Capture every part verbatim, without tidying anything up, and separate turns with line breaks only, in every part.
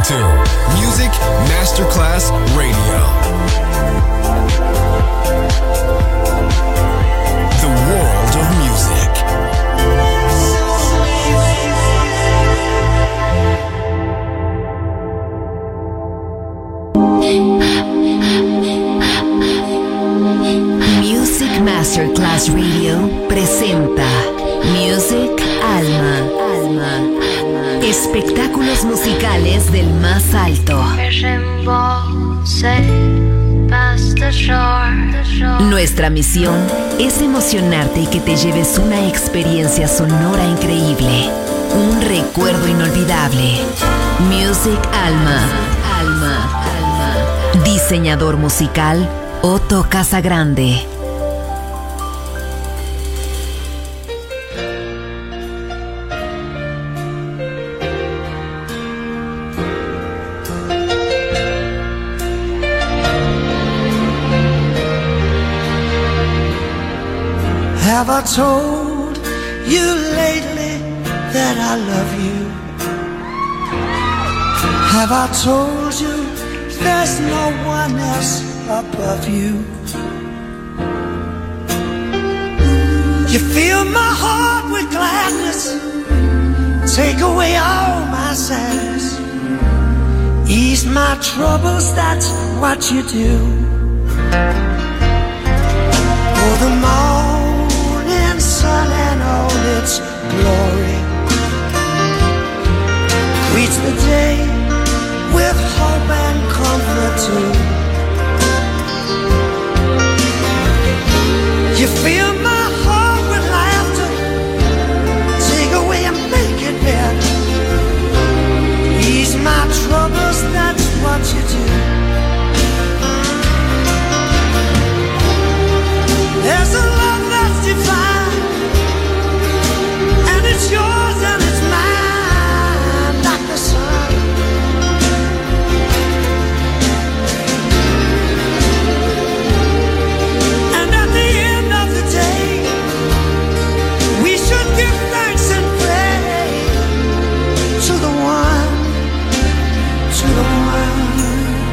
to Music Masterclass Radio. The world of music.
Music Masterclass Radio presenta Music Alma. Alma. Espectáculos musicales del más alto. Nuestra misión es emocionarte y que te lleves una experiencia sonora increíble, un recuerdo inolvidable. Music Alma. Alma. Alma. Diseñador musical Otto Casagrande.
Have I told you lately that I love you? Have I told you there's no one else above you? You fill my heart with gladness, take away all my sadness, ease my troubles, that's what you do. For the morning sun and all its glory greets the day with hope and comfort too. You fill my heart with laughter, take away and make it better, ease my troubles, that's what you do. There's a love that's divine, and it's yours and it's mine, like the sun. And at the end of the day, we should give thanks and pray to the one, to the one.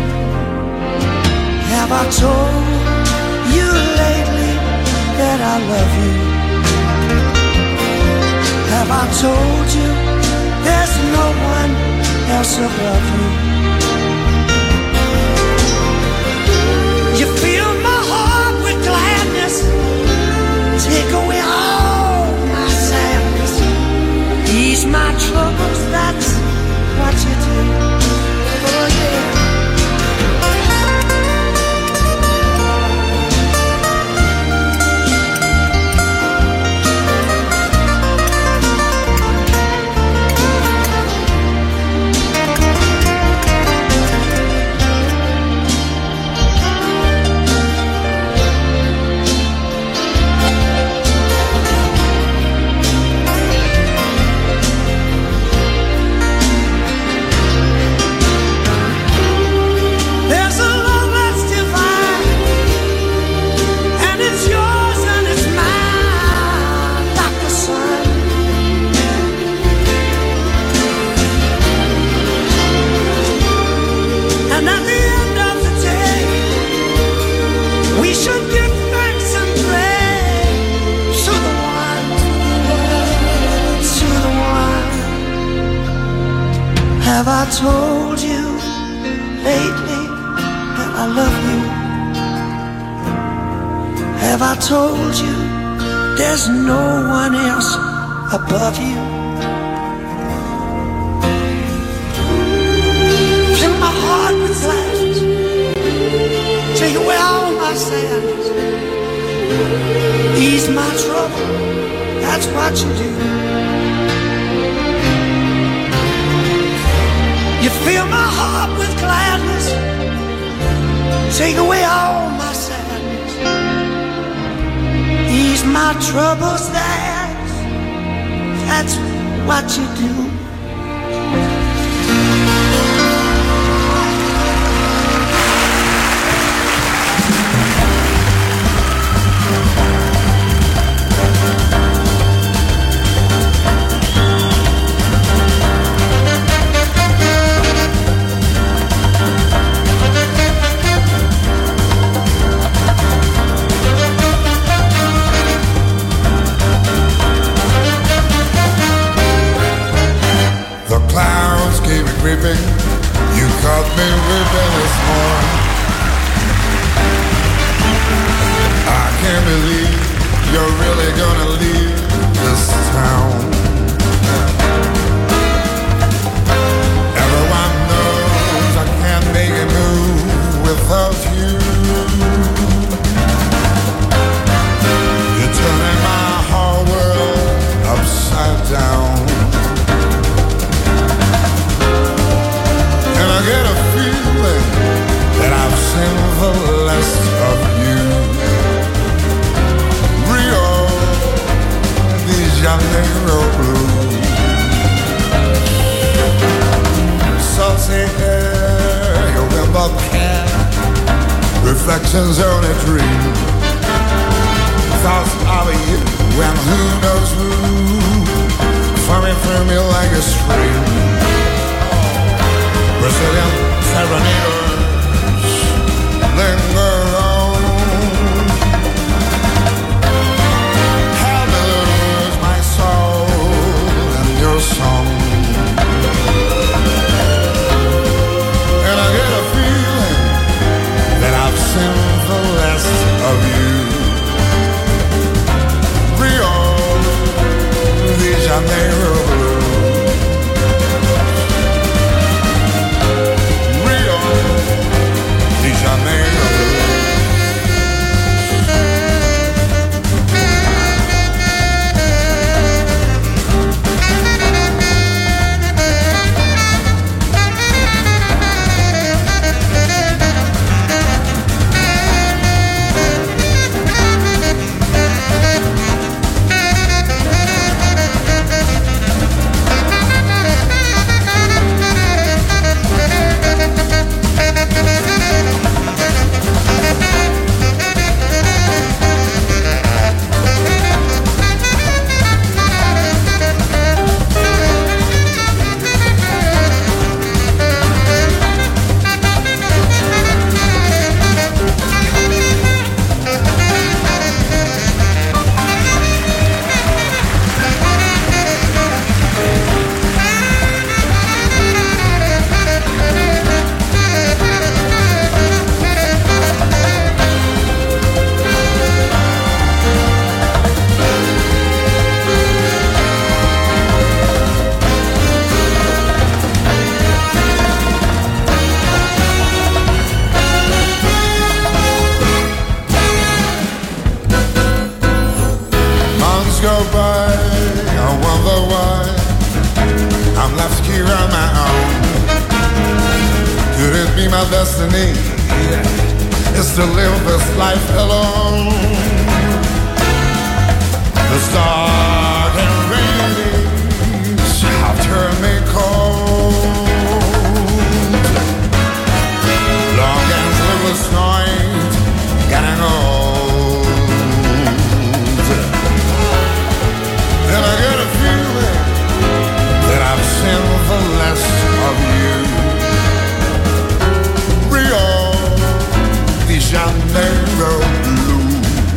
Have I told you lately that I love you? Have I told you there's no one else above you? You fill my heart with gladness, take away all my sadness, ease my troubles, that's what you do. Oh yeah. Have I told you lately that I love you? Have I told you there's no one else above you? Fill my heart with gladness, take away all my sadness, ease my trouble, that's what you do. You fill my heart with gladness, take away all my sadness, ease my troubles, that's, that's what you do.
weeping. You caught me weeping this morning. I can't believe you're really gonna leave this town. Everyone knows I can't make a move without you. You're turning my whole world upside down. And I get a feeling that I've seen the last of you. Rio de Janeiro blue. Salty air, your wimble can. Reflections on a dream. Thoughts of you and who knows who, flowing through me like a stream. Brazilian serenaders linger on. Help me lose my soul in your song. And I get a feeling that I've seen the last of you. Rio de Janeiro blue. Rio de Janeiro blue. Go by, I wonder why I'm left here on my own. Could it be my destiny? Yeah. Is to live this life alone. The dark and rainy days have turned me cold. Long and sleepless night, getting old. And I get a feeling that I've seen the last of you. Rio de Janeiro blue.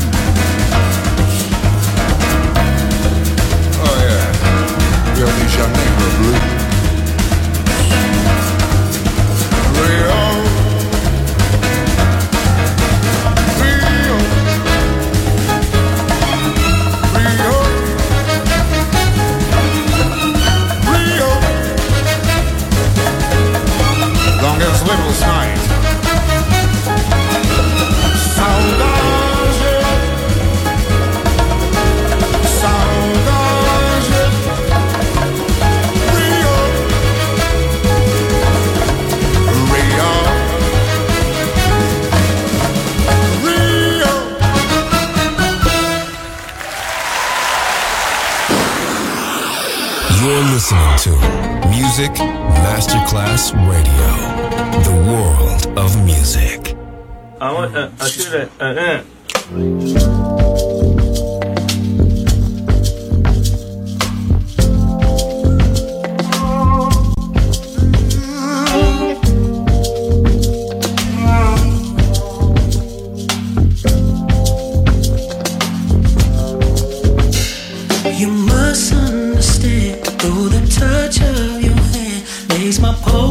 Oh yeah, Rio de Janeiro blue. Rio, Rio, Rio. Longest sleepless night. Saudade, saudade. Rio, Rio, Rio.
You're listening to Music Masterclass Radio, the world of music.
I want. Uh, I should have. Uh, uh.
You must understand, though the touch of your hand makes my pulse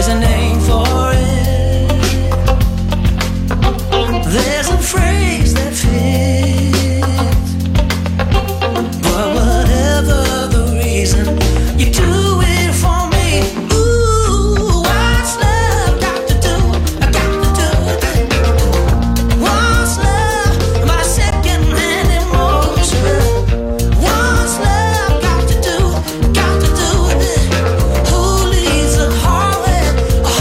there's a name for it. There's a phrase that fits. But whatever the reason, you do it for me. Ooh, what's love got to do? I got to do it. What's love? My second-hand emotion. What's love got to do? Got to do it. Who leads a heart, a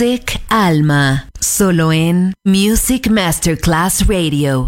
Music Alma, solo en Music Masterclass Radio.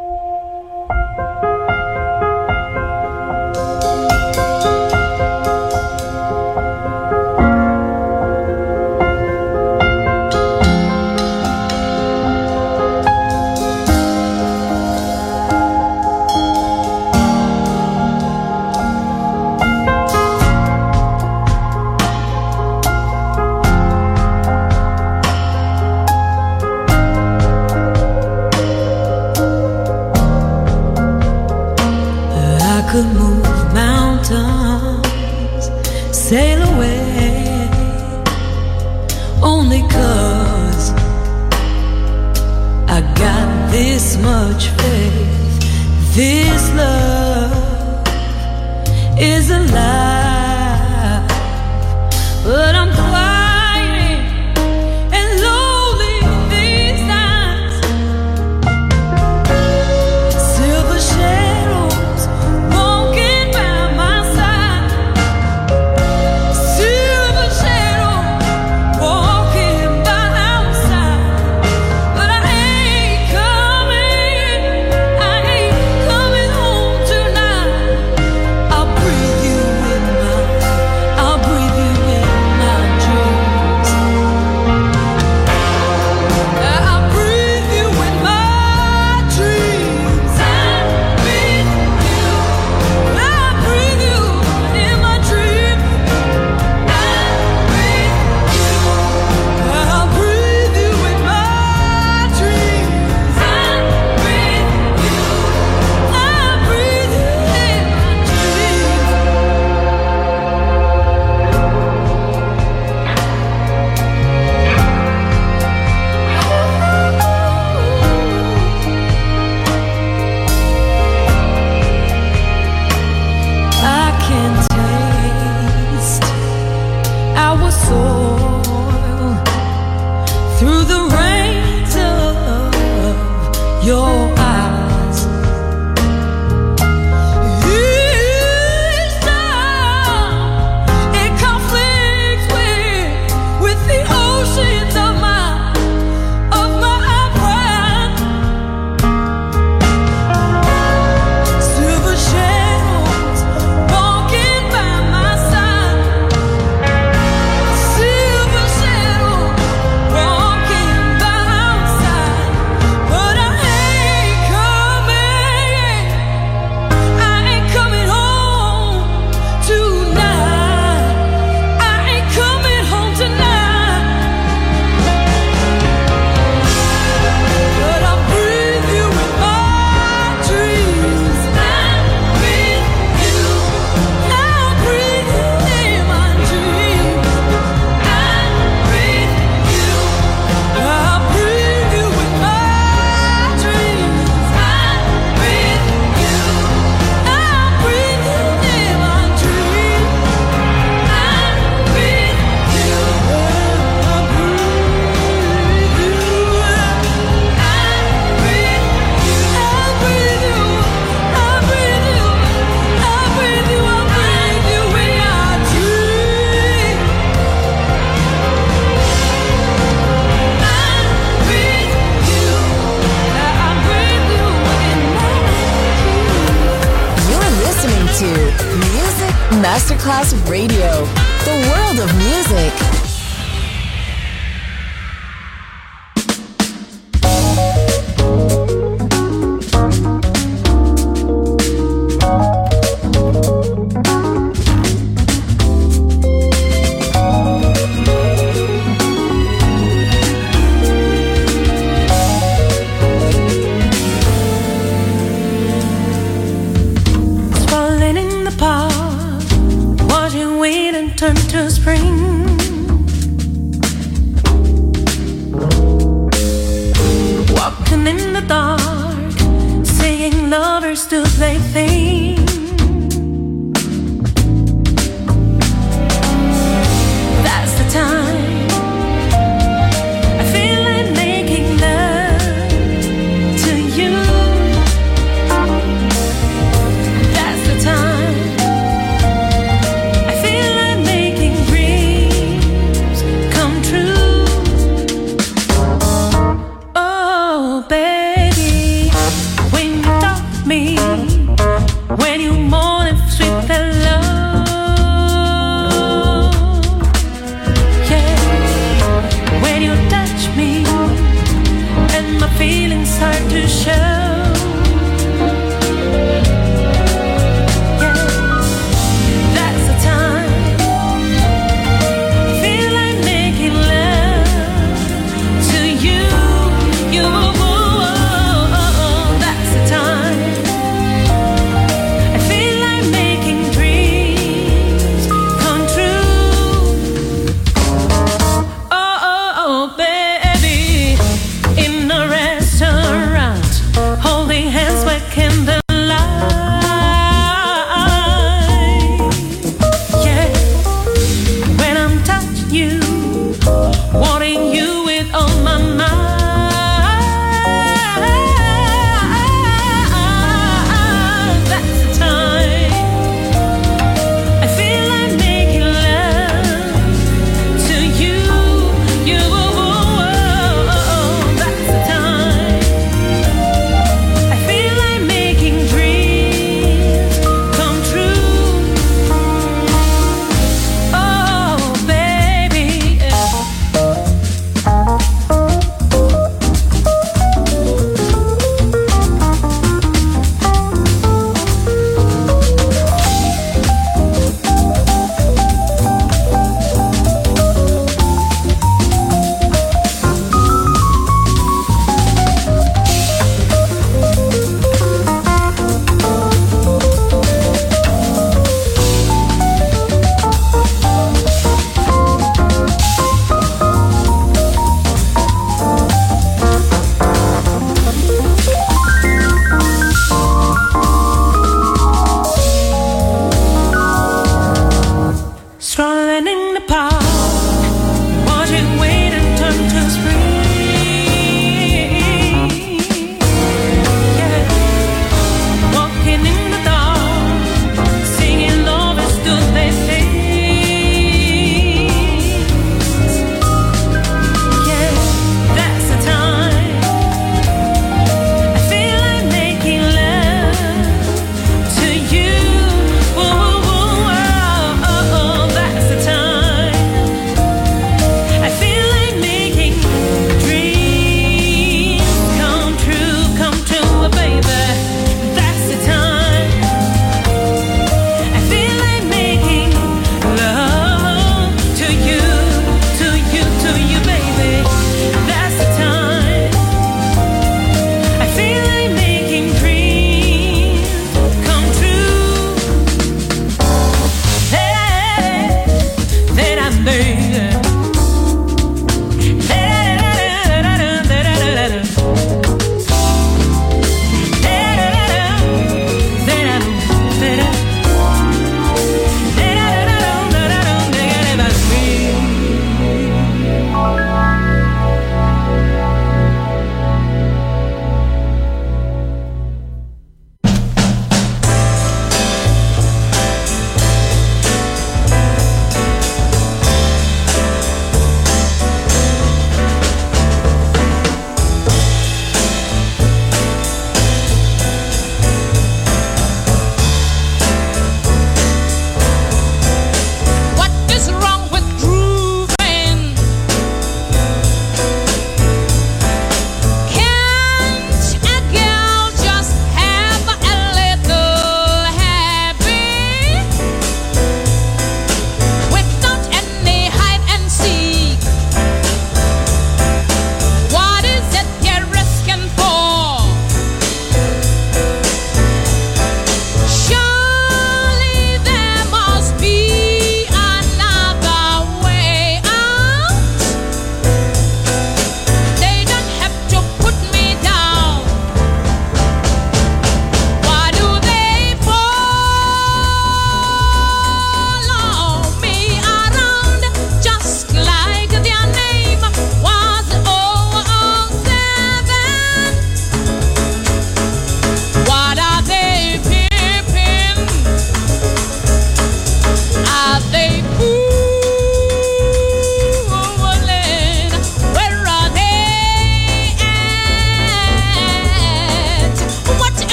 Could move mountains, sail away, only 'cause I got this much faith. This love is alive, but I'm quiet and lonely these nights. Silver shadows
Masterclass Radio, the world of music.
I feel like making dreams come true. you more than sweet and love. Yeah, when you touch me and my feelings start to show.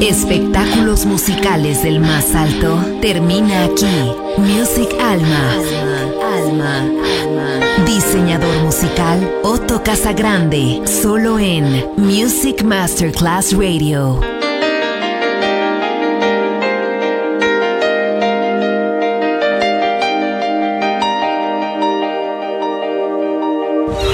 Espectáculos musicales del más alto termina aquí. Music Alma. Alma. Alma. Diseñador musical Otto Casagrande. Solo en Music Masterclass Radio.